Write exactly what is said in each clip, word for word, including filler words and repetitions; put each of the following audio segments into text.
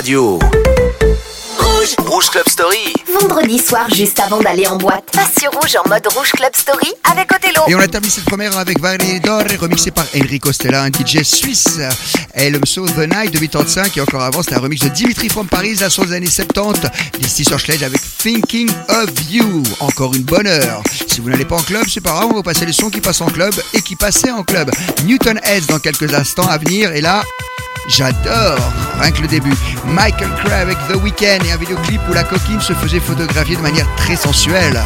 radio. Rouge, Rouge Club Story. Vendredi soir, juste avant d'aller en boîte, passe sur Rouge en mode Rouge Club Story avec Othello. Et on a terminé cette première avec Valedor, remixé par Enrico Stella, un D J suisse. Et le morceau The Night de quatre-vingt-quinze, et encore avant, c'était un remix de Dimitri from Paris, la sauce des années soixante-dix. Listy sur Schledge avec Thinking of You. Encore une bonne heure. Si vous n'allez pas en club, c'est pas grave, on va passer les sons qui passent en club et qui passaient en club. Newton Heads dans quelques instants à venir, et là... j'adore, rien que le début. Michael Cray avec The Weeknd et un vidéoclip où la coquine se faisait photographier de manière très sensuelle.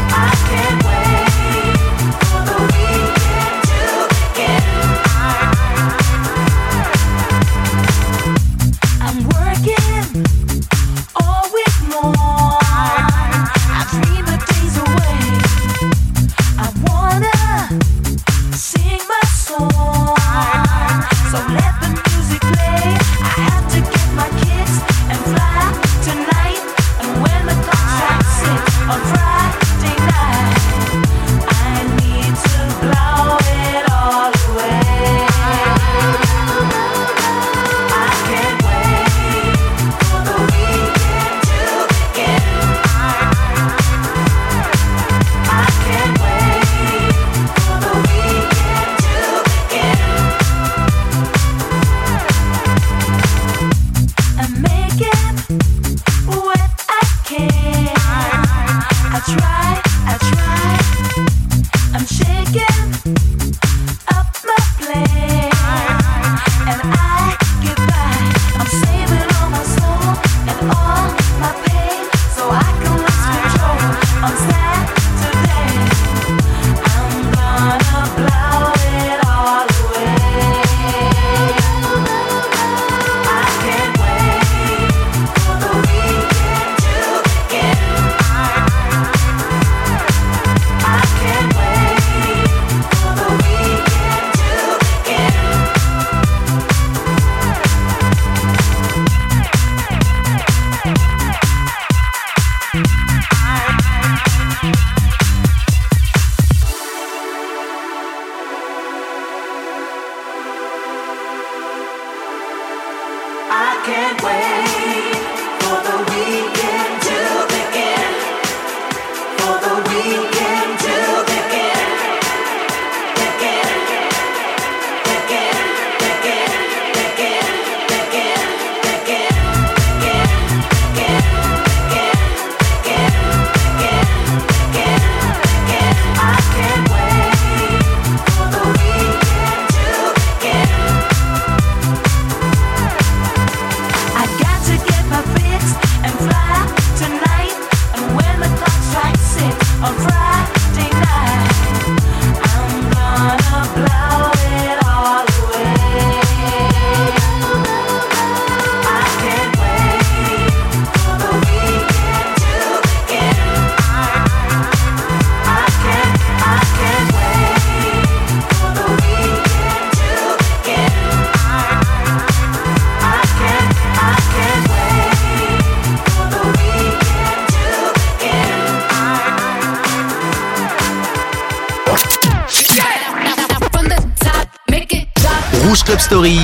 Rouge Club Story.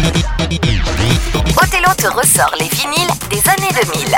Othello te ressort les vinyles des années deux mille.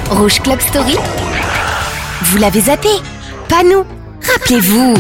Rouge Club Story. Vous l'avez zappé? Pas nous. Rappelez-vous.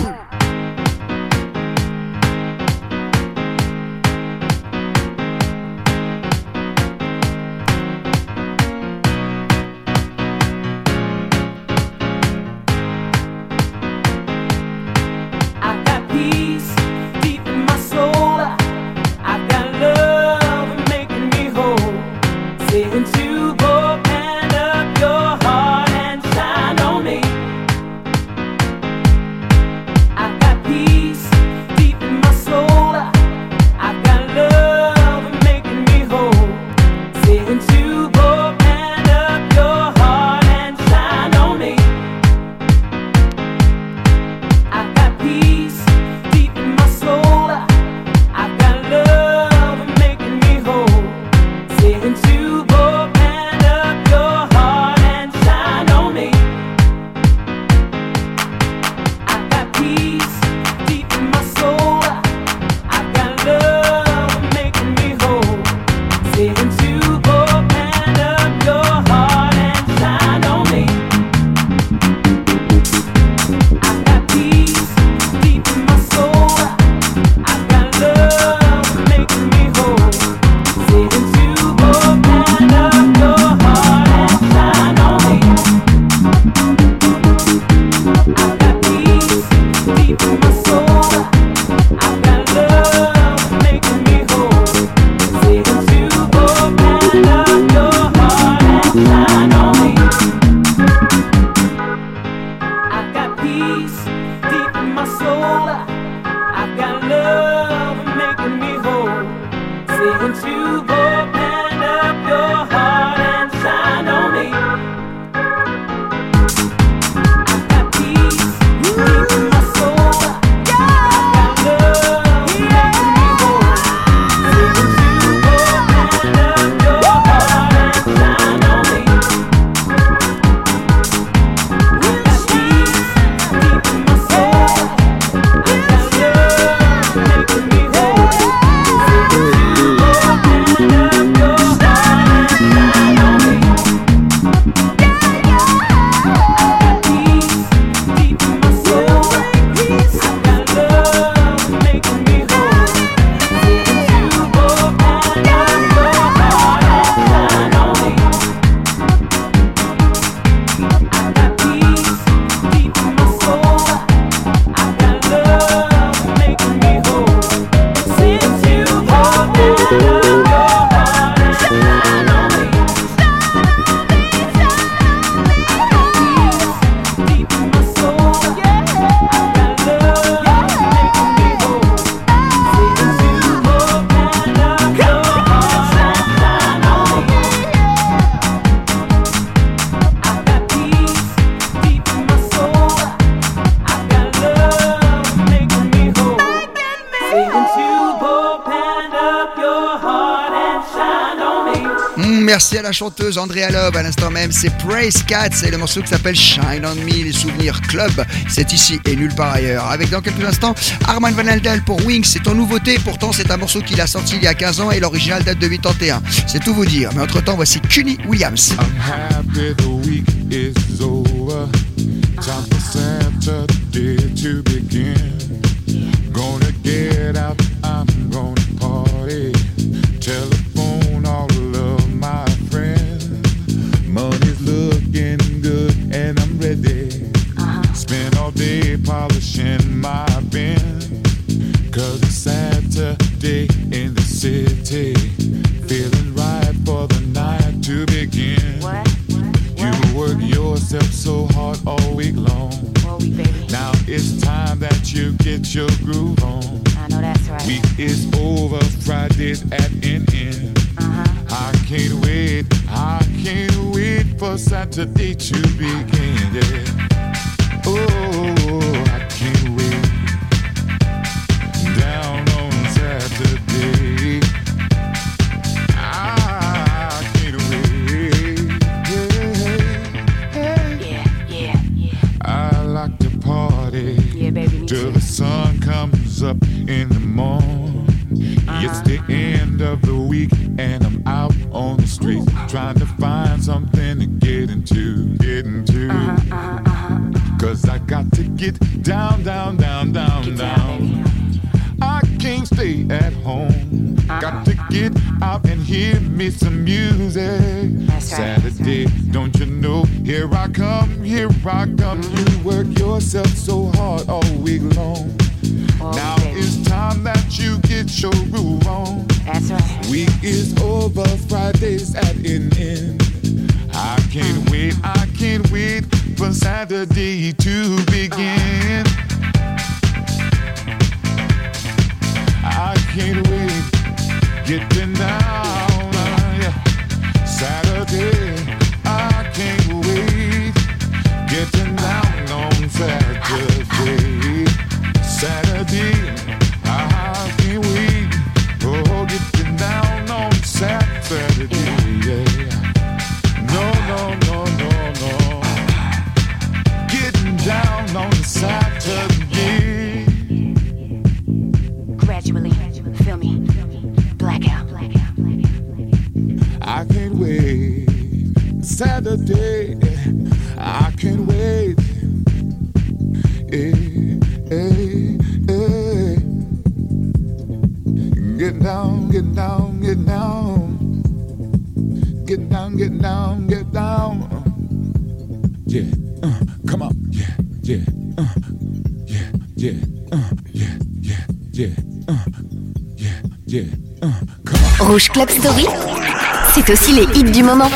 Merci à la chanteuse Andrea Love. À l'instant même, c'est Praise Cats et le morceau qui s'appelle Shine on Me, les souvenirs club. C'est ici et nulle part ailleurs. Avec dans quelques instants, Armand Van Helden pour Wings. C'est en nouveauté, pourtant c'est un morceau qu'il a sorti il y a quinze ans et l'original date de quatre-vingt-un. C'est tout vous dire. Mais entre temps, voici Kunny Williams. I'm happy the week is over. Time for Saturday to begin. Gonna get out, I'm gonna party. Telephone all of my friends. Money's looking good and I'm ready. Uh-huh. Spend all day polishing my Benz. Cause it's Saturday in the city. Feeling right for the night to begin. What? What? You work yourself so hard all week long. All week, baby. Now it's time that you get your groove on. I know that's right. Week is over, Friday's at an end. Uh-huh. I can't wait, I can't wait for Saturday to begin, yeah. Oh, I can't wait. Down on Saturday, I can't wait. Yeah, yeah, yeah. I like to party. Yeah, baby, me Till too. the sun comes up in the morning. Uh-huh. It's the end of the week and I'm out on the street. trying to find something to get into, get into. Uh-huh, uh-huh, uh-huh. Cause I got to get down, down, down, down, get down. down. I can't stay at home. Uh-huh. Got to get out and hear me some music. That's right, Saturday, that's right. Don't you know? Here I come, here I come. You work yourself so hard all week long. Oh, now baby. It's time that you get your groove on. That's right. Week is over, Friday's at an end. I can't wait, I can't wait for Saturday to begin. I can't wait, getting down, uh, yeah. Saturday, I can't wait, getting down on Saturday. Saturday, I can't wait, oh, getting down on Saturday, yeah. No, no, no, no, no, getting down on Saturday. Gradually, feel me, blackout, blackout, blackout. I can't wait, Saturday, I can't wait, hey, hey, hey. Get down, get down, get down, get down, get down, get down. Yeah, uh, come on, yeah, yeah, uh, yeah, yeah, uh, yeah, yeah, yeah, uh, yeah, yeah, uh, come on. Rouge Club Story, c'est aussi les hits du moment.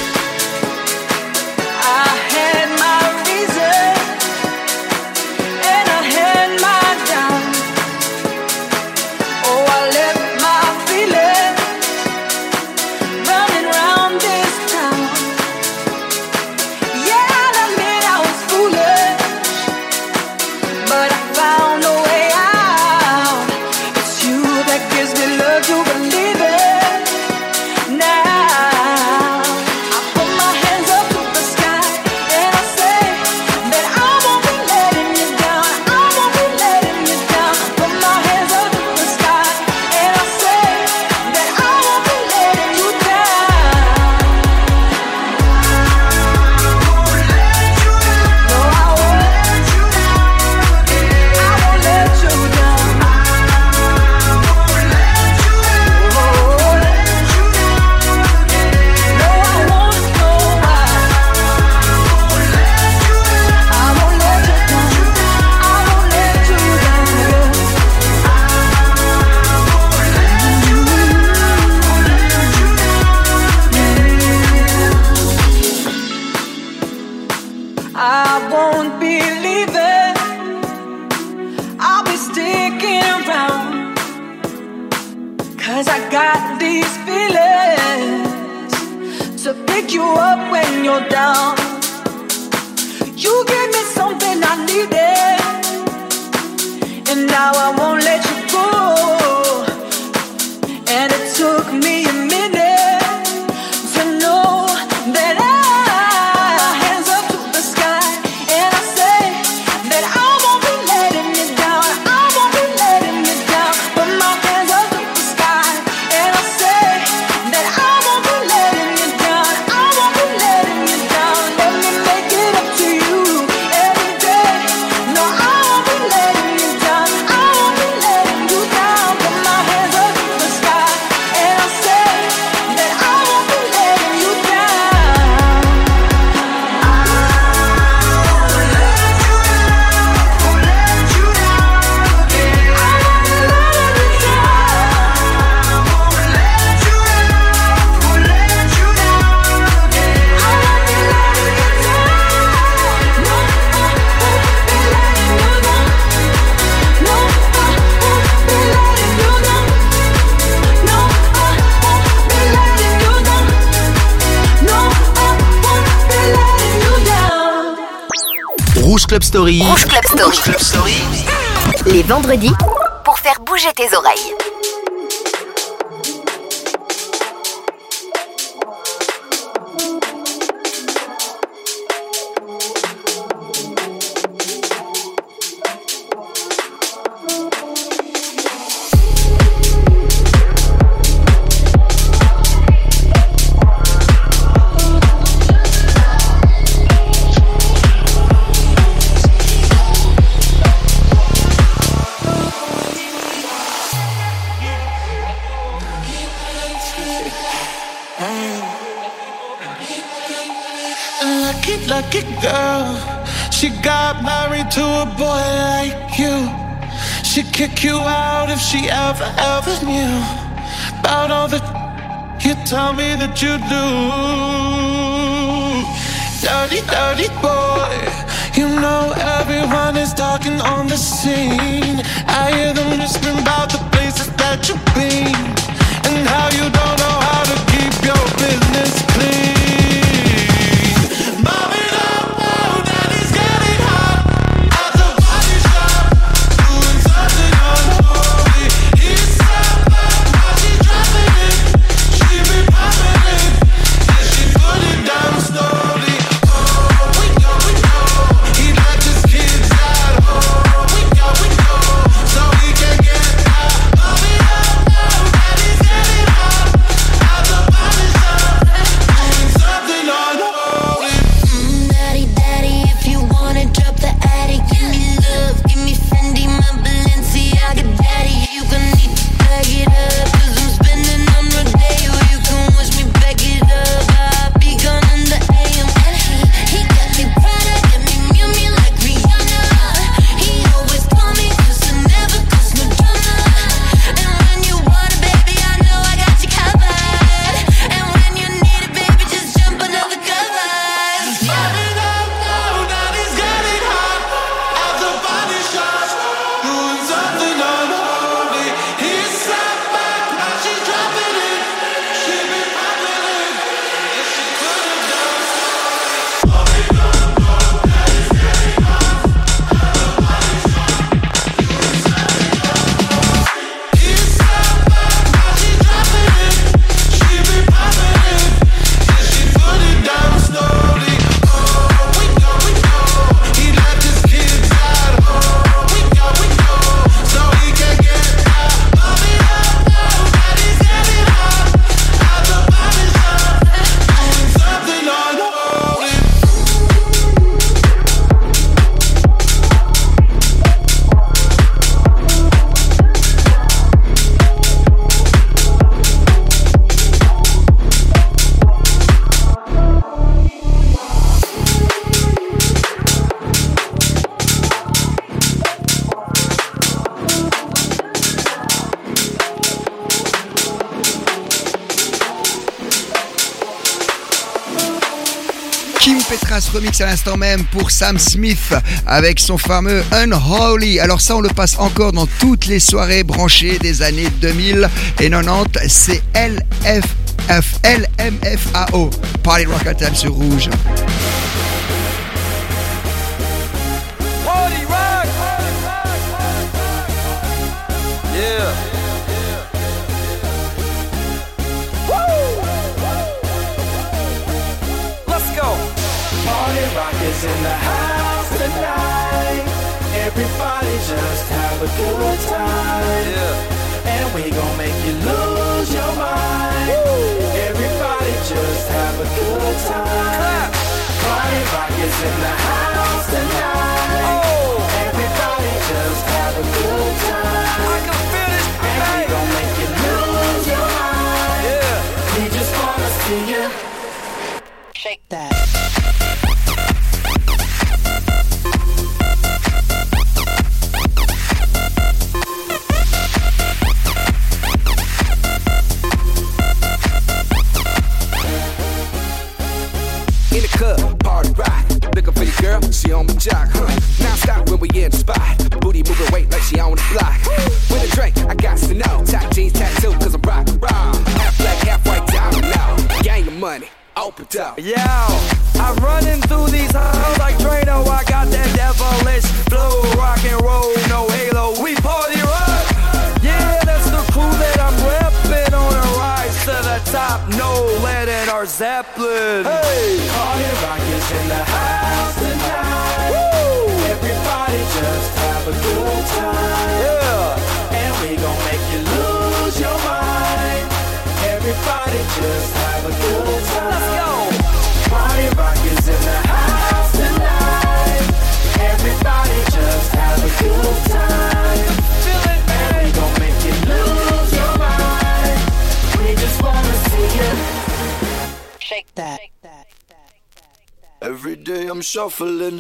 Rouge Club Story. Rouge Club Story. Rouge Club Story. Les vendredis, pour faire bouger tes oreilles. Lucky, lucky girl. She got married to a boy like you. She'd kick you out if she ever, ever knew about all the you tell me that you do. Dirty, dirty boy. You know everyone is talking on the scene. I hear them whispering about the places that you've been and how you don't know how to keep your business clean. Mom it up now, daddy's getting hot at the body shop, doing something unholy. He's up back, now she's dropping it. She be popping it, then she put it down slowly. Oh, we go, we go. He left his kids at home. We go, we go, so he can get out. Mom it up now, daddy's getting hot at the body shop, doing something unholy. Mm, daddy, daddy, if you wanna drop the attic, give me love, give me Fendi, my Balenciaga, daddy. You gon' need to bag it up, cause I'm spending on Rodeo. You can watch me back it up, I'll be gone in the A M. And he, he got me Prada, got me Miu Miu like Rihanna. He always call me cause I never cause no drama. And when you want it, baby, I know I got you covered. And when you need it, baby, just jump under the covers. Mom it up now, daddy's getting hot at the body shop, doing something unholy. He's sat back, now she's dropping it. She be popping it, and she put it down slowly. Mom it up now, daddy's getting hot at the body shop, doing something unholy. He's sat back, now she's dropping it. She be popping it, and she put it down slowly. Oh, we go, we go. He left his kids at home. We go, we go, so he can get out. Mom it up now, daddy's getting hot at the body shop, doing something unholy. Kim Petras remix à l'instant même pour Sam Smith avec son fameux Unholy. Alors ça, on le passe encore dans toutes les soirées branchées des années deux mille et quatre-vingt-dix. C'est L F F L M F A O. Party Rock Anthem sur Rouge. Party rock! Yeah. Woo! Let's go. Party rock is in the house tonight. Everybody just have a good time. Yeah. And we gon' make you lose your mind. Everybody just have a good time. Clap. Party rock is in the house tonight. Oh. Everybody just have a good time. I can feel this, And we baby. gon' make you lose your mind. Yeah. We just wanna see you Shake that. In the club, party rock. Looking for your girl, she on my jock, huh? Now stop when we in the spot. Booty moving weight like she on the block. With a drink, I got to know. Top jeans tattoo, cause I'm rock and roll. Half black, half white, diamond now. Gang your money, open up. Yo, I'm running through these halls like Drano. I got that devilish flow, rock and roll, no halo. We party rock. Yeah, that's the crew that I'm repping on a rise to the top. No lead in our Zeppelin. Hey, Party rock is in the house tonight. woo, Everybody just have a good time. yeah. And we gon' make you lose your mind. Everybody just have a good time. Let's go. Party rock is in the house tonight. Everybody just have a good time. Feel it, And we man. gon' make you lose your mind. We just wanna see you Shake that. Every day I'm shuffling.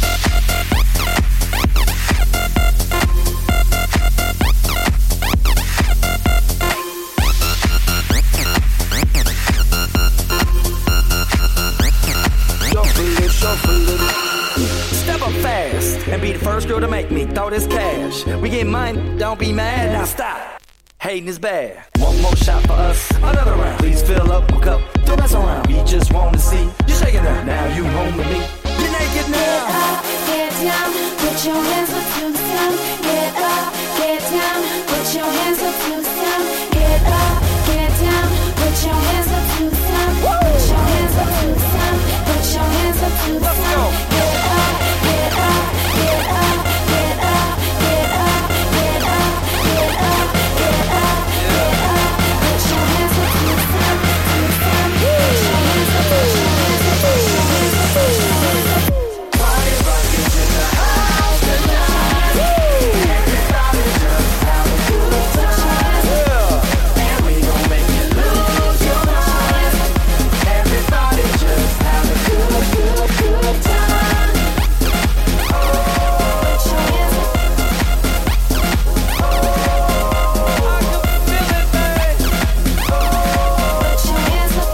Shuffling, shuffling. Step up fast and be the first girl to make me throw this cash. We get money, don't be mad, now stop. Hating is bad. One more shot for us, another round. Please fill up a cup, don't mess around. We just want to see you shaking up. Now you home with me. You're naked now. Get up, get down, put your hands up to the sun. Get up, get down, put your hands up to the sun. Get up, get down, put your hands up to the sun. Put your hands up to the sun. Put your hands up to the sun. Get up, get up, get up, get up, get up, get up, get up, get up, get up. Put your hands up to the sun, to the sun. Put your hands up, put your hands up, put your hands up, put your hands up. Party rockers in the house tonight. Everybody just have a good time. And we gon' make you lose your mind. Everybody just have a good, good, good time. Oh, put your hands up. Oh, I can feel it, babe. Oh, put your hands up.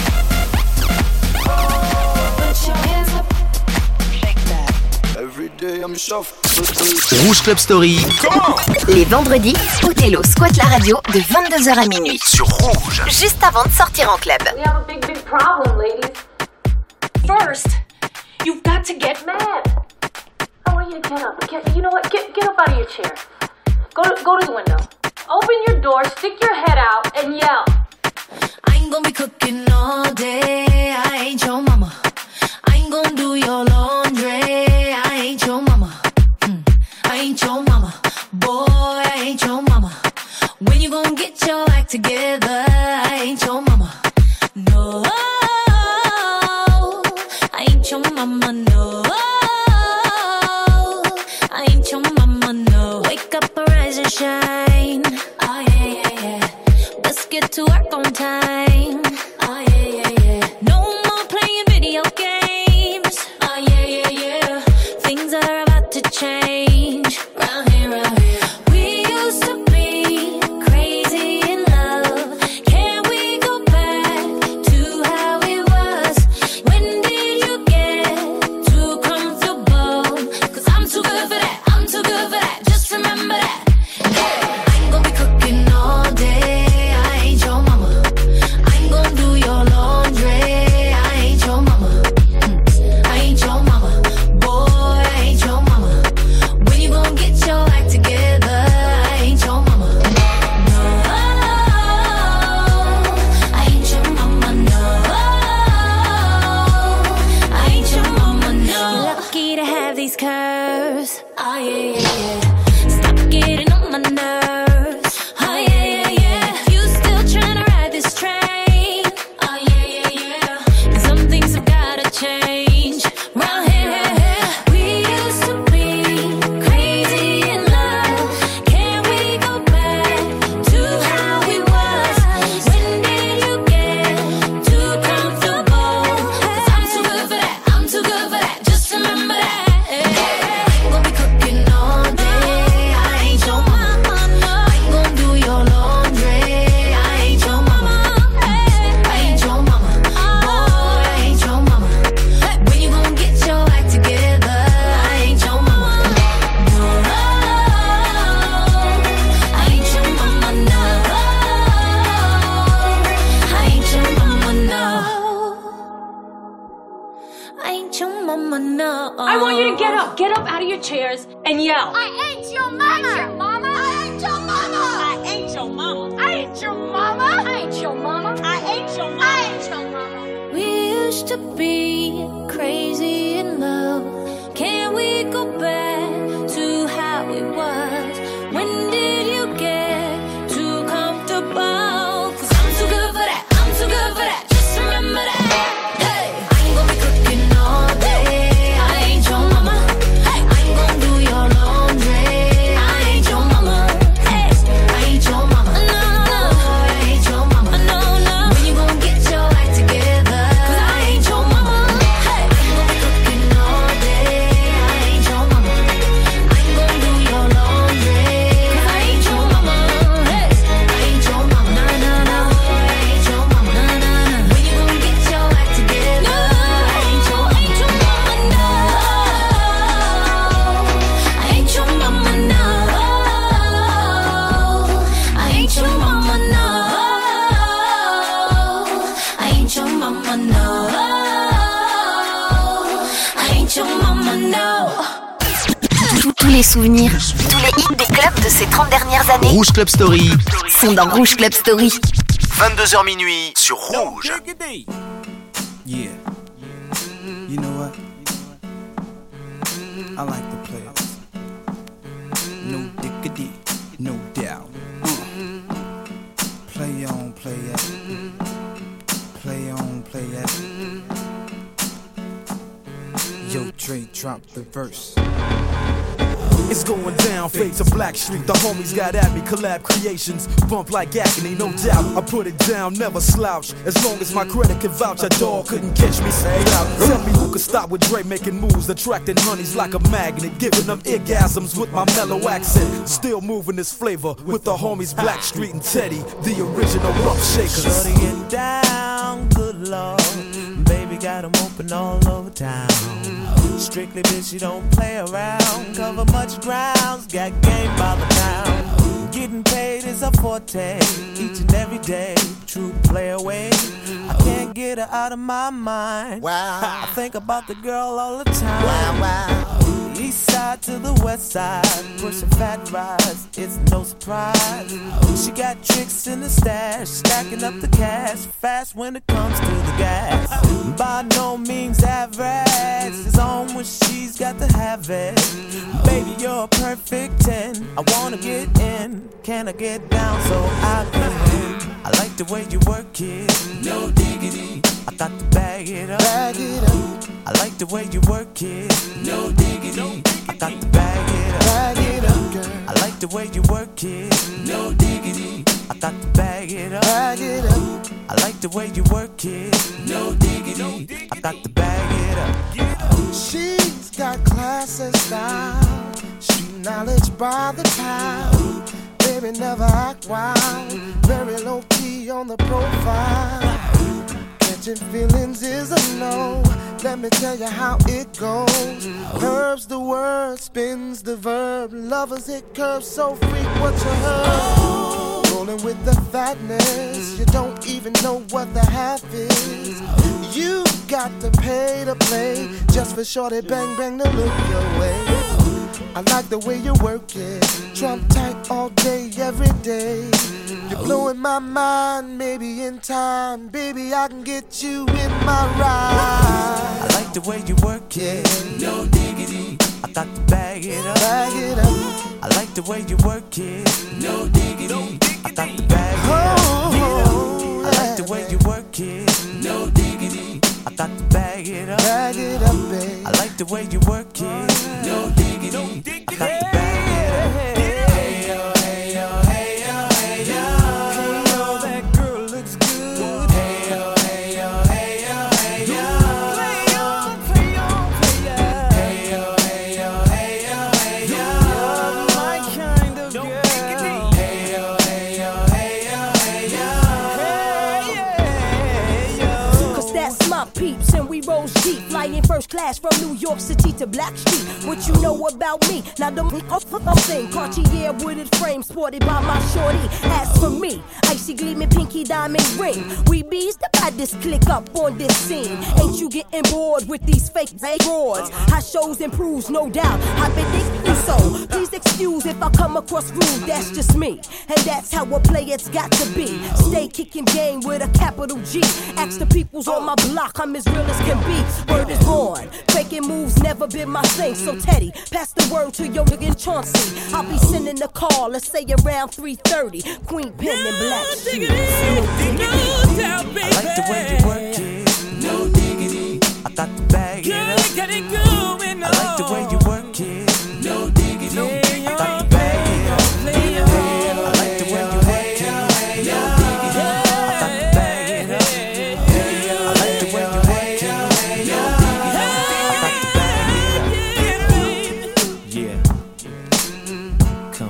Oh, put your hands up. Every day I'm shuffling. Rouge Club Story. Les vendredis, Othello squatte la radio de vingt-deux heures à minuit. Sur Rouge. Juste avant de sortir en club. We have a big, big problem, ladies. First, you've got to get mad. I want you to get up. Get, you know what? Get, get up out of your chair. Go to, go to the window. Open your door, stick your head out, and yell. I ain't gonna be cooking all day. I ain't your mama. I ain't gonna do your laundry. I ain't your mama. Mm. I ain't your mama. Boy, I ain't your mama. When you gonna get your act together? I ain't your mama. No, I ain't your mama. No, I ain't your mama. No, wake up, arise and shine. Oh yeah, yeah, yeah. Let's get to work on time. Oh yeah, yeah, yeah. No more playing video games. Oh yeah, yeah, yeah. Things are about to change. Round here, round here. We used to be crazy in love. Can we go back to how it was? When did you get too comfortable? Cause I'm too good for that. I'm too good for that. Just remember that. Hey, I ain't gonna be cooking all day. I ain't your mama. I ain't gonna do your laundry. I ain't your mama. Mm. I ain't your mama. Boy, I ain't your mama. When you gonna get your act together? I ain't your mama. No, I ain't your mama. No, I ain't your mama. No. You're lucky to have these curves. Oh yeah, yeah, yeah. Stop getting on my nerves. Oh yeah, yeah, yeah. You still trying to ride this train? Oh yeah, yeah, yeah. And some things have gotta change. Round here, here, here. We used to be crazy in love. Can we go back to how it was? When did you get too comfortable? Cause I'm too good for that. I'm too good for that. Just remember that. I ain't gonna be cooking all day. I ain't your mama. I ain't gonna do your laundry. I ain't your mama. I ain't your mama. Boy, I ain't your mama. When you gonna get your act together? I ain't your mama. No, I ain't your mama. No, I ain't your mama. No, I ain't your mama. No. I want you to get up. Get up out of your chairs and yell. I ain't your mama. I ain't your mama. I ain't your mama. I ain't your mama. I ain't your mama. I ain't your mama. I ain't your mama. We used to be crazy in love. Can we go back to how it was? When did you get too comfortable? Cause I'm too good for that. I'm too good for that. Just remember that. Hey, I ain't gonna be cooking all day. I ain't your mama. I ain't gonna do your laundry. I ain't your mama. Hey, I ain't your mama. No, no, I ain't your mama. No, no. When you gonna get your act together? Cause I ain't Tous les souvenirs, tous les hits des clubs de ces trente dernières années Rouge Club Story. sont dans Rouge Club Story. vingt-deux heures minuit sur Rouge. Yeah. You know what? I like the players. No diggity, no doubt. Uh. Play on, play it. Play on, play it. Yo, Dre, drop the verse. It's going down, fade to Black Street. The homies got at me, collab creations. Bump like agony, no doubt. I put it down, never slouch. As long as my credit can vouch, a dog couldn't catch me, say out. Tell me who could stop with Dre making moves, attracting honeys like a magnet, giving them orgasms with my mellow accent. Still moving this flavor with the homies Black Street and Teddy, the original rough shakers. Shutting it down, good lord. Baby got them open all over town. Strictly bitch, you don't play around. Cover much grounds, got game by the pound. Getting paid is a forte, each and every day. True play away. I can't get her out of my mind. Wow. I think about the girl all the time. Wow, wow. East side to the west side, pushing fat rides, it's no surprise. She got tricks in the stash, stacking up the cash, fast when it comes to the gas. By no means average, it's on when she's got to have it. Baby, you're a perfect ten, I wanna get in, can I get down so I can win? I like the way you work it, no diggity, I got to bag it up, bag it up. I like the way you work it, no diggity, I got to bag it up, bag it up, girl. I like the way you work it, no diggity, I got to bag it up, bag it up. I like the way you work it, no diggity, I got to bag it up. She's got class and style, street knowledge by the pound. Baby never act wild, very low key on the profile. Catching feelings is a no. Let me tell you how it goes. Herbs the word, spins the verb. Lovers hit curves so freak what you heard. Rolling with the fatness, you don't even know what the half is. You got to pay to play, just for shorty bang bang to look your way. I like the way you work it, Trump tight all day, every day. You're blowing my mind, maybe in time, baby I can get you in my ride. I like the way you work it, no diggity, I got to bag it up, bag it up. I like the way you work it, no diggity, I got to bag it up. Oh, I like the way you work it, no diggity, I got to bag it up, bag it up, babe. I like the way you work it, no diggity, I got to bag it up. Hey yo, hey yo, hey yo, hey yo. Hey yo, that girl looks good. Hey yo, hey yo, hey yo, hey yo. Play on, play on, play on. Hey yo, hey yo, hey yo, hey yo. You're my kind of girl. Hey yo, hey yo, hey yo, hey yo. Hey yo. Cause that's my peeps and we roll deep, flying first class from New York City to Black Street. What you know about me? Now don't thing. Cartier wooded frame sported by my shorty. As for me, icy gleaming pinky diamond ring. We bees the baddest click up on this scene. Ain't you getting bored with these fake broads? How shows improves, no doubt. I've been thinking so. Please excuse if I come across rude. That's just me, and that's how a player's got to be. Stay kicking game with a capital G. Ask the peoples on my block, I'm as real as can be. Word is born. Faking moves never been my thing. So Teddy, pass the word to your nigga Chauncey. I'll be sending a call, let's say around three thirty. Queen Pen and Black Street. I like the way you work it, no diggity, I got to bag it up. I like the way you work it, no diggity, I got to bag it up. I like the way you work it, no diggity, I got to bag it up. I like the way you work it, no diggity, I got to bag it up. Yeah, come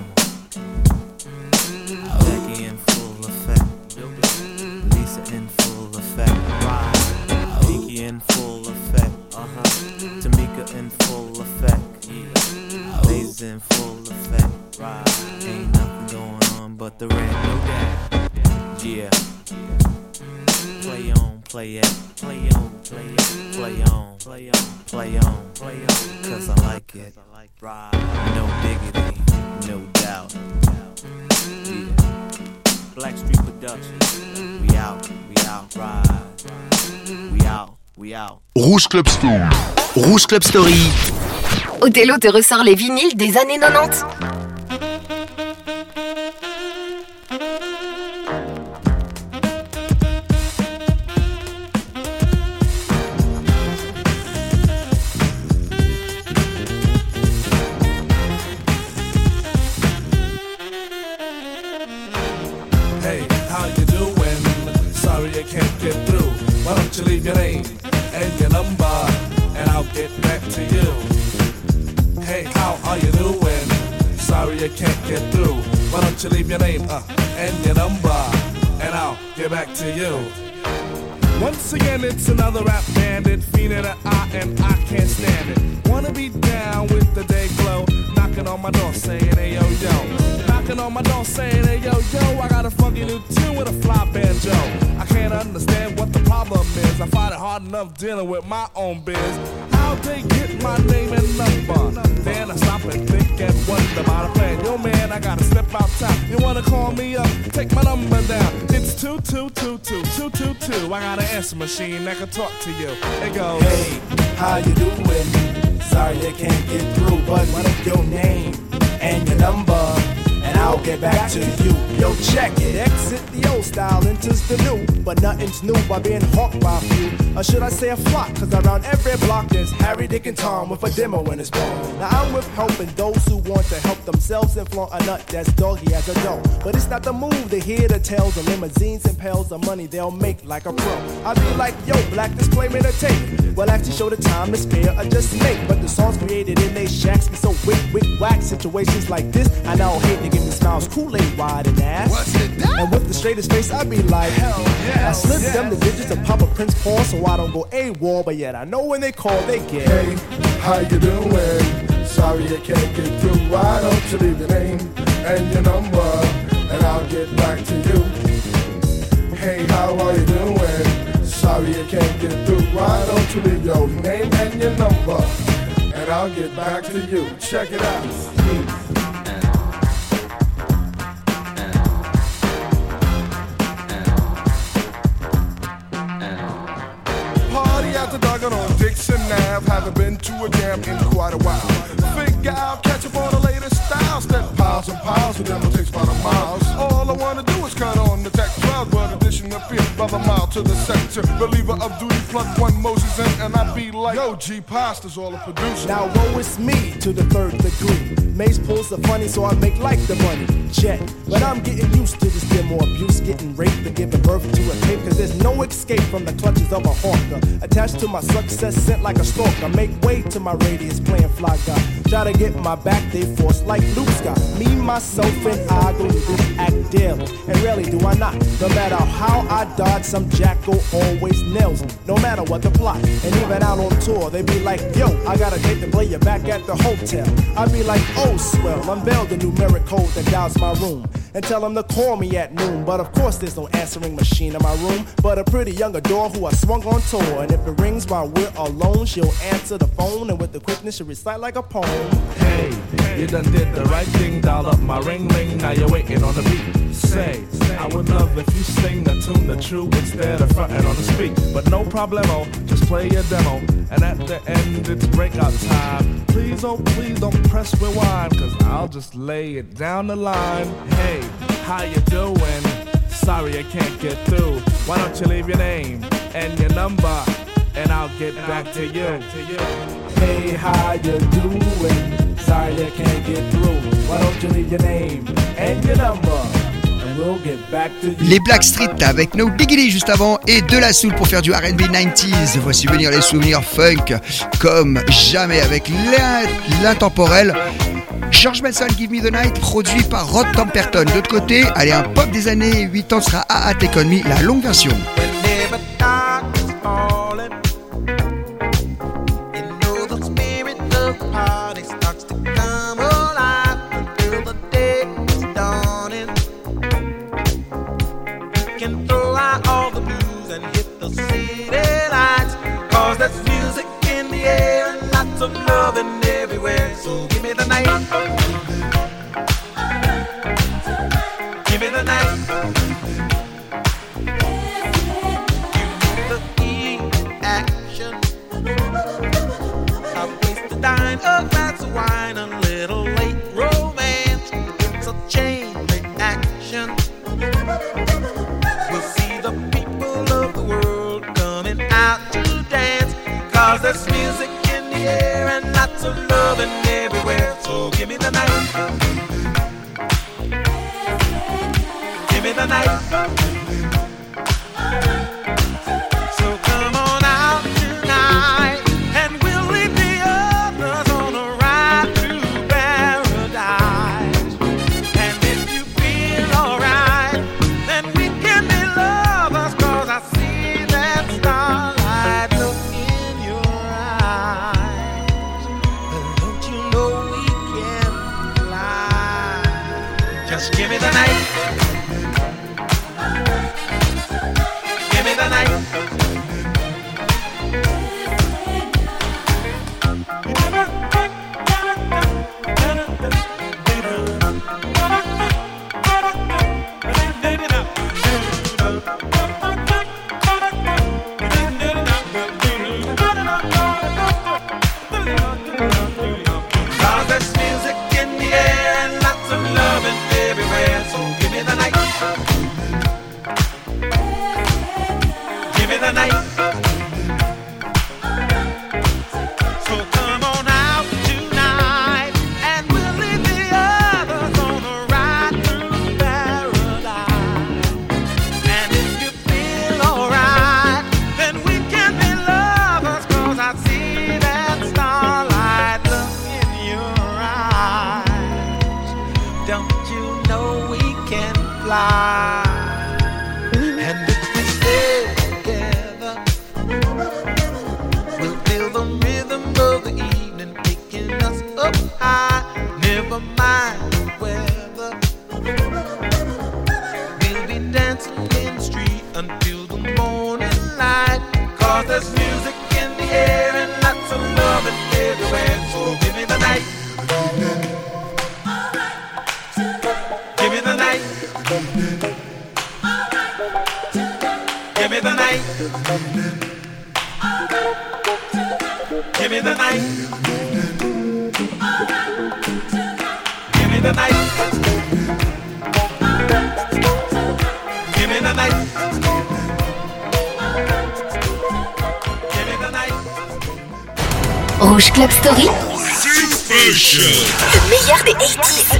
on. Becky in full effect, Lisa in full effect, Pinky in full effect, uh-huh. Tamika in full effect, yeah. Lays in full effect, right. Ain't nothing going on but the red, no doubt. Yeah. Play on, play it, play on, play Play on, play on, play on, play on, cause I like it. No diggity, no doubt. Yeah. Black Street Productions. We out, we out, ride. We out, we out. Rouge Club Story. Rouge Club Story. Othello te ressort les vinyles des années quatre-vingt-dix. Can't get through. Why don't you leave your name and your number, and I'll get back to you. Hey, how are you doing? Sorry I can't get through. Why don't you leave your name uh, and your number, and I'll get back to you. Once again, it's another rap bandit, fiending an eye, and I can't stand it. Wanna be down with the day glow, knocking on my door saying, hey yo yo. Knocking on my door saying, hey yo yo, I got a funky new tune with a fly banjo. I can't understand what the problem is. I find it hard enough dealing with my own biz. How'd they get my name and number? Then I stop and think and wonder about a plan. Yo man, I gotta step outside. You wanna call me up? Take my number down. It's two two two two two two two. I got an answer machine that can talk to you. It goes, hey, how you doing? Sorry I can't get through, but what is your name and your number? And I'll get back to you. Yo, check it. Exit the old style, enters the new. But nothing's new by being hawked by a few. Or should I say a flock? Cause around every block there's Harry, Dick, and Tom with a demo in his palm. Now I'm with helping those who want to help themselves and flaunt a nut that's doggy as a dough. But it's not the move to hear the tales of limousines and pails of money they'll make like a pro. I be like, yo, black disclaimer to tape. Well, actually show the time to spare or just make. But the songs created in they shacks be so wick, wick, whack. Situations like this, I now hate to give me smiles, Kool-Aid wide and ass. What's it done? And with the straightest face, I be like, hell yeah. I slip yes. them the digits of Papa Prince Paul so I don't go AWOL, but yet I know when they call, they get. Hey, how you doing? Sorry I can't get through. Why don't you leave your name and your number, and I'll get back to you. Hey, how are you doing? Sorry I can't get through. Why don't you leave your name and your number, and I'll get back to you. Check it out. After dogging on Dixon Ave, haven't been to a jam in quite a while. Figure I'll catch up on the latest styles. Step piles and piles, and then it takes about a mile. All I wanna do is cut on the tech twelve, but addition appears by the mile to the sector. Reliever of duty, plug one Moses in, and I be like, yo, G Pasta's all a producer. Now woe is me to the third degree. Mace pulls the funny, so I make like the money. Check, but I'm getting used to this demo abuse, getting raped and giving birth to a tape. Cause there's no escape from the clutches of a hawker. Attached to my success, sent like a stalker. Make way to my radius, playing fly guy. Try to get my back, they force like Luke Scott. Me, myself, and I go to this act daily. And rarely do I not. No matter how I dodge, some jackal always nails me. No matter what the plot. And even out on tour, they be like, yo, I got a date to play you back at the hotel. I be like, oh, swell, unveil the numeric code that dials my room. And tell them to call me at noon. But of course there's no answering machine in my room, but a pretty young adore who I swung on tour. And if it rings while we're alone, she'll answer the phone, and with the quickness she'll recite like a poem. Hey, you done did the right thing, dial up my ring ring, now you're waiting on the beat. Say, I would love if you sing the tune the true instead of fronting on the speak. But no problemo, just play your demo, and at the end it's breakout time. Please, oh please don't press rewind, cause I'll just lay it down the line. Hey, how you doing? Sorry I can't get through. Why don't you leave your name and your number, and I'll get back to you. Hey, how you doing? Sorry I can't get through. Why don't you leave your name and your number, and we'll get back to you. Les Blackstreet avec No Diggity juste avant, et de la soul pour faire du R and B quatre-vingt-dix. Voici venir les souvenirs funk comme jamais avec l'intemporel George Benson, Give Me The Night, produit par Rod Temperton. De l'autre côté, allez, un pop des années quatre-vingt-dix sera A A Take On Me, la longue version. All the blues and hit the city lights. air and lots of loving everywhere. So give me the night. Give me the night. Give me the key action. A place to dine, a glass of wine, a little late romance. It's a chain reaction. We'll see the people of the world coming out to dance. Cause there's music in the air and lots of loving everywhere. So give me the night. Give me the night. So come on out tonight and we'll leave the others on a ride through paradise. And if you feel alright, then we can be lovers. Cause I see that starlight look in your eyes. But don't you know we can fly? Just give me the night. Give me the night. Cause there's music in the air and lots of loving everywhere. So give me the night. Give me the night. So come on out tonight and we'll leave the others on a ride through paradise. And if you feel alright, then we can be lovers. Cause I see that starlight look in your eyes. Don't you know we can fly? And if we stay together, we'll feel the rhythm of the evening taking us up high. Never mind the weather, we'll be dancing in the street until the morning light. Cause there's music in the air and lots of loving everywhere. So give me the night. Give me the night. Give me the night. Give me the night. Give me the night. Give me the night. Give me the night. Rouge Club Story. Le meilleur des eighties.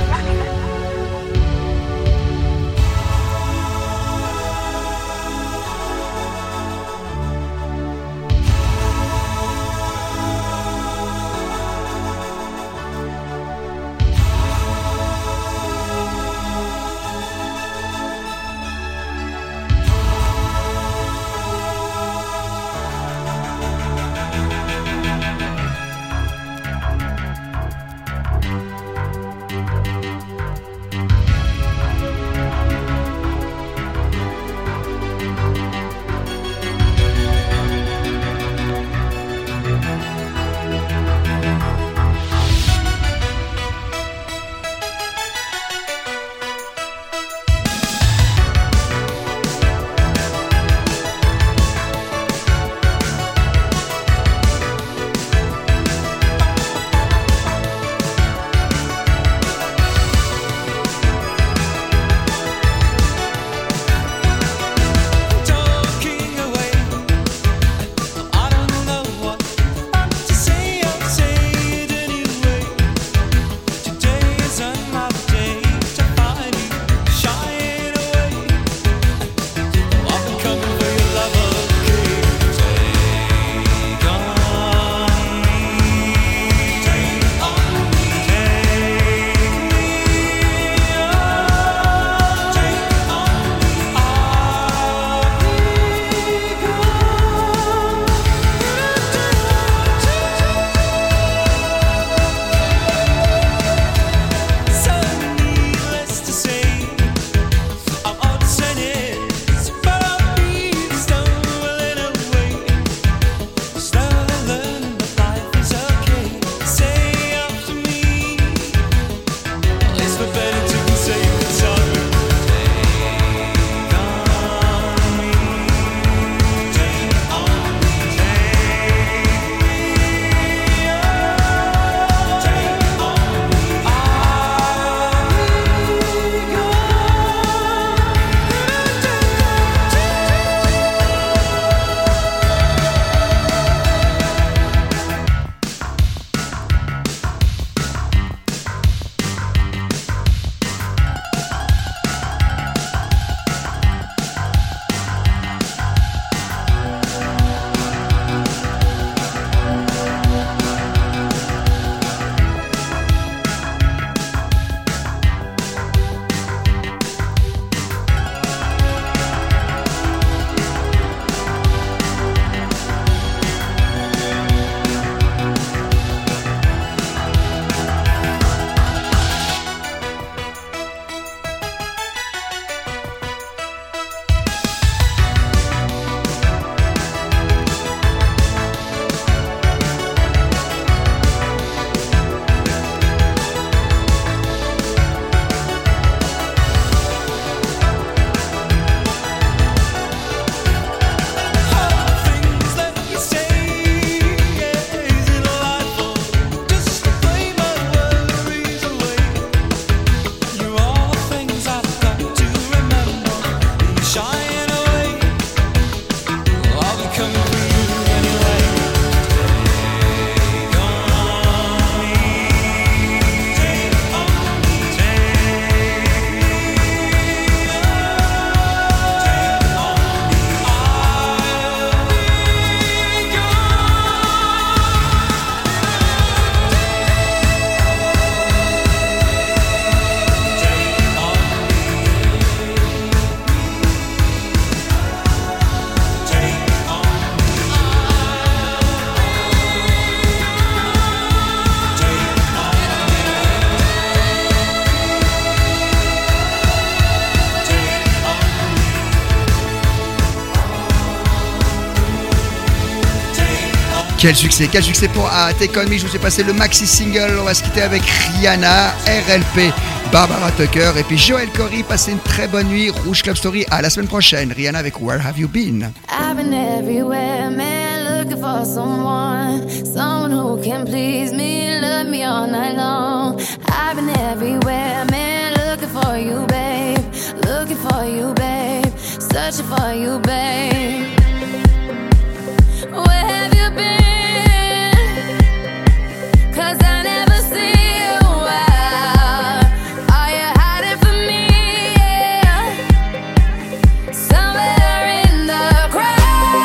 Quel succès, quel succès pour ah, Take On Me. Je vous ai passé le maxi single. On va se quitter avec Rihanna, R L P, Barbara Tucker et puis Joel Corey. Passez une très bonne nuit. Rouge Club Story, à la semaine prochaine. Rihanna avec Where Have You Been? I've been everywhere, man, looking for someone, someone who can please me, love me all night long. I've been everywhere, man, looking for you, babe, looking for you, babe, searching for you, babe. Where have you been? 'Cause I never see you out. Are you hiding from me? Yeah. Somewhere in the crowd.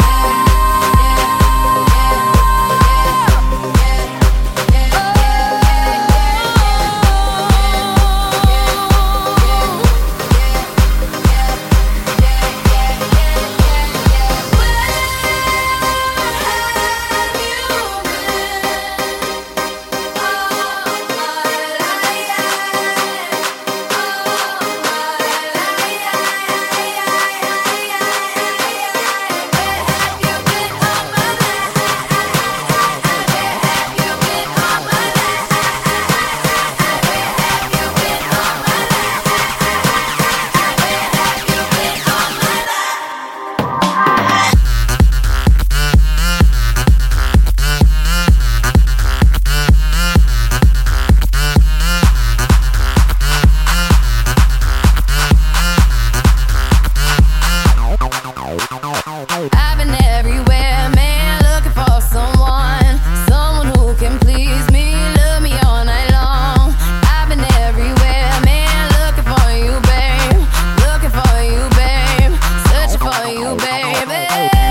I've been everywhere, man, looking for someone, someone who can please me, love me all night long. I've been everywhere, man, looking for you, babe, looking for you, babe, searching for you, baby.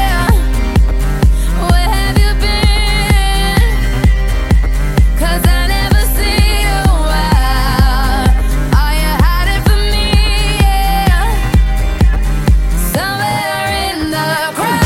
Where have you been? 'Cause I never see you out. Are you hiding from me? Yeah. Somewhere in the crowd.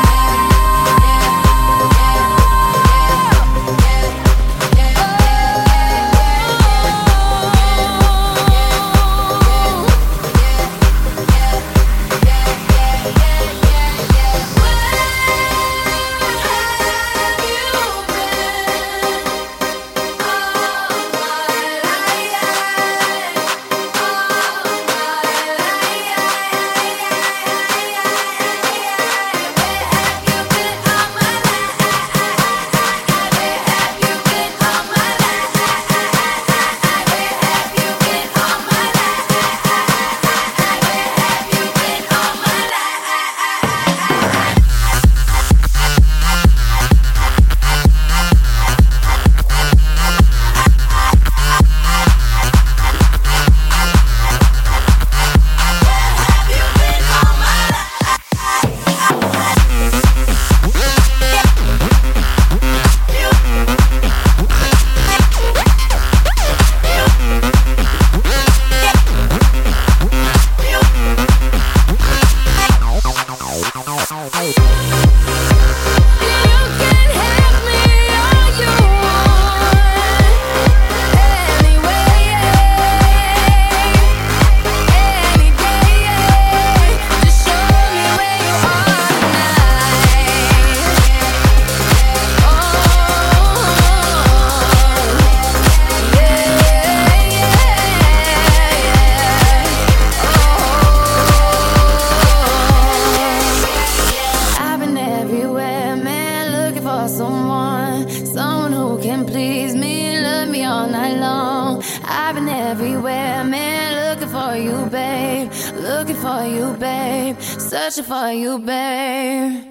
I've been everywhere, man, looking for someone, someone who can please me, love me all night long. I've been everywhere, man, looking for you, babe, looking for you, babe, searching for you, babe.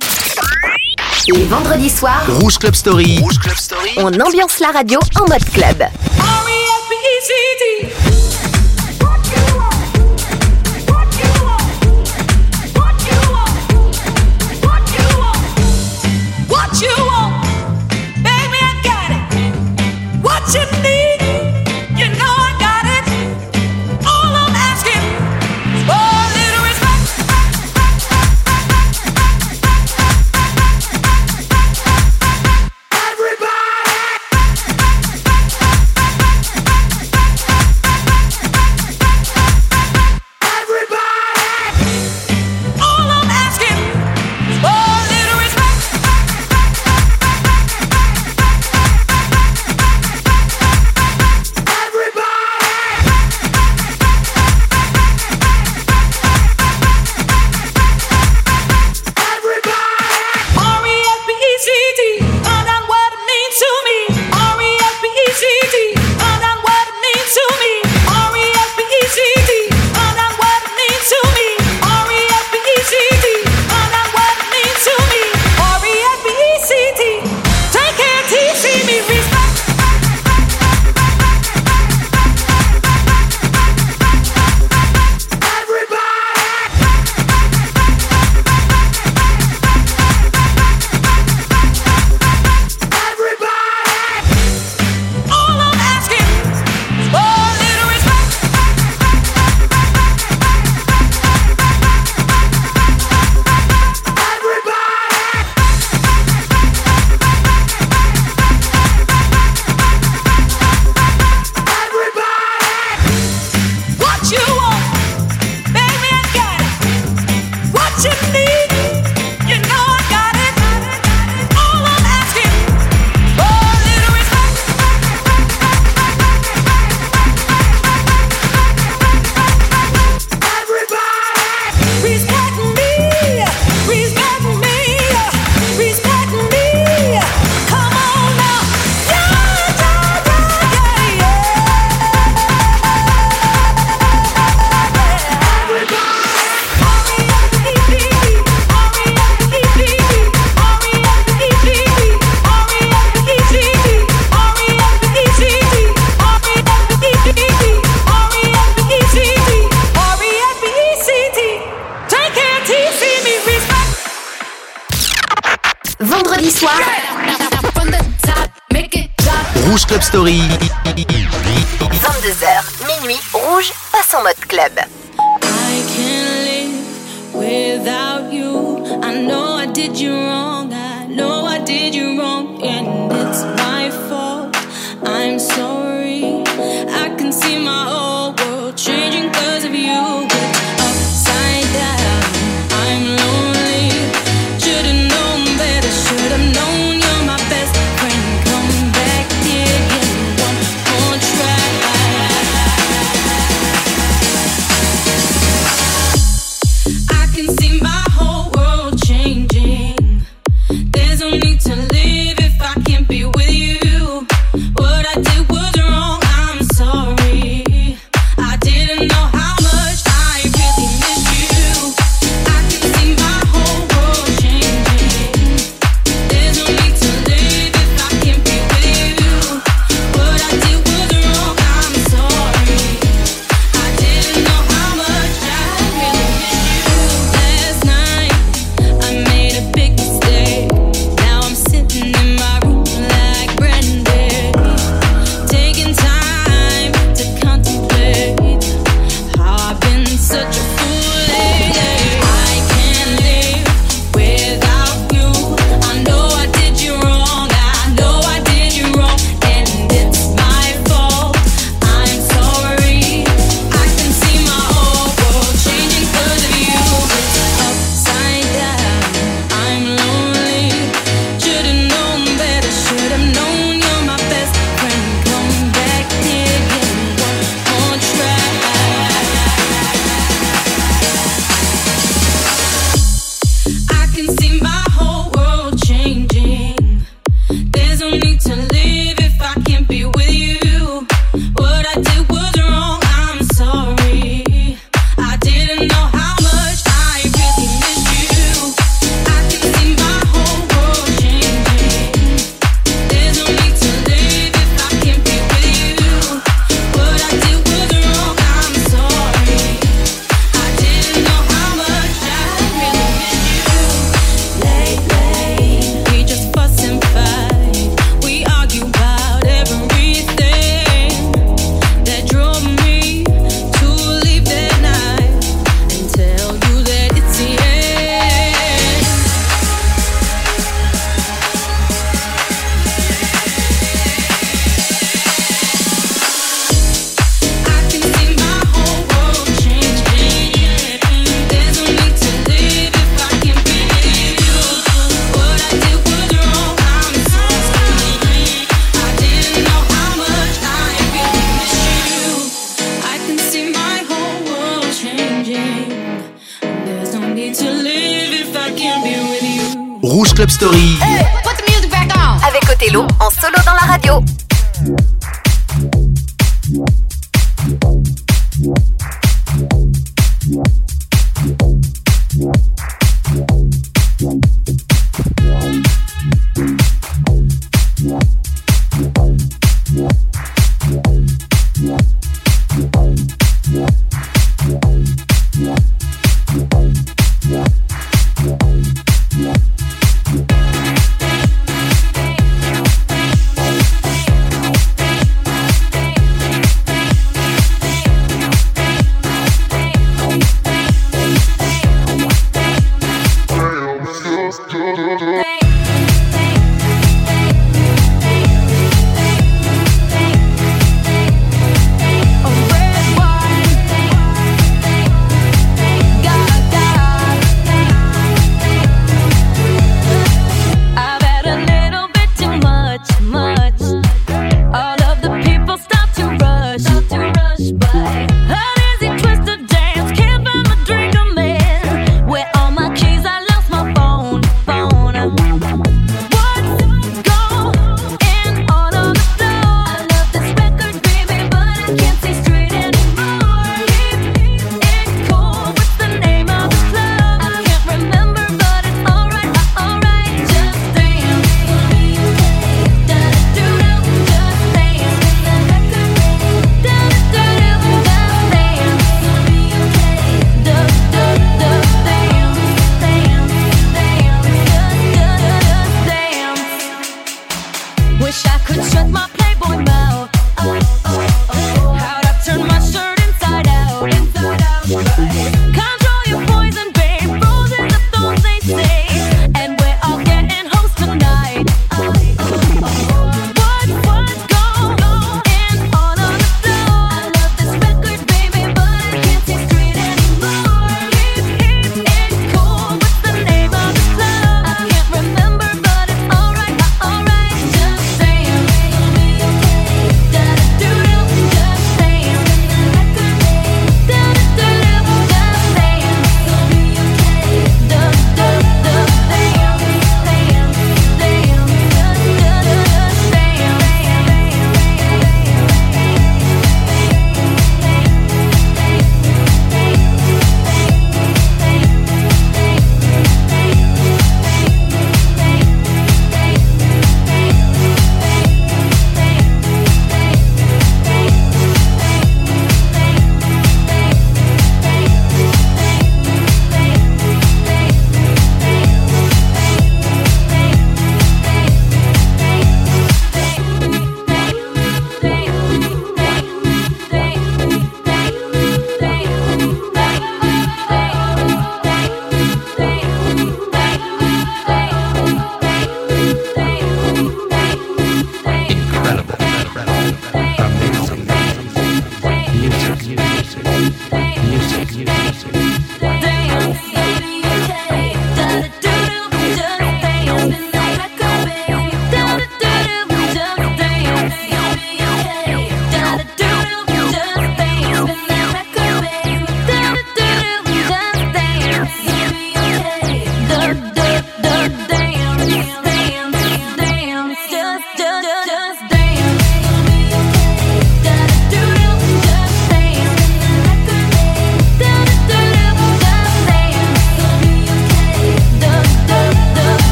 Les vendredis soirs, Rouge Club Story. Rouge Club Story. on ambiance la radio en mode club. R E S P E C T. What you want, baby, I got it. What you need, you know I got it. All I'm asking is for a little respect. Everybody. Rouge Club Story. vingt-deux heures, minuit, Rouge passe en mode club. I can't live without you. I know I did you wrong. I know I did you wrong, and it's my fault. I'm sorry. I can see my whole world changing 'cause of you. But upside down, I'm lonely. Should've known better. Should've known you're my best friend. Come back here again, one more try. I can see my whole world changing. There's no need to live if I can't be with you. What I did was wrong, I'm sorry. I didn't know how much I really miss you. I can see my whole world changing. There's no need to live if I can't be with you. What I did was wrong, I'm sorry. I didn't know how much I really miss you. Last night I made a big mistake. Now I'm sitting in my room like Brandy, taking time to contemplate how I've been such a fool lately. I can't live without you. I know I did you wrong. I know I did you wrong, and it's my fault. I'm sorry. I can see my whole world changing 'cause of you. It's upside down. I'm lonely. Should've known better. Should've known you're my best friend. Come back here again, one more try. I can see my whole world changing. There's no need to live if I can't be with you. What I did was wrong, I'm sorry. I didn't know how much I really miss you. I can see my whole world changing. There's no need to live if I can't be with you. What I did was wrong, I'm sorry. I didn't know how much I really miss you. Lately, we just fuss and fight. We argue about everything that drove me to leave that night and tell you that it's the end. I can see my whole world changing. There's no need to live if I can't be with you. What I did was wrong, I'm sorry. I didn't know how much I really miss you. I can see my whole world changing. There's no need to live if I can't be with you. Rouge Club Story. Put the music back on. Avec Othello en solo dans la radio. Hey, wish I could shut my Playboy mouth. Oh.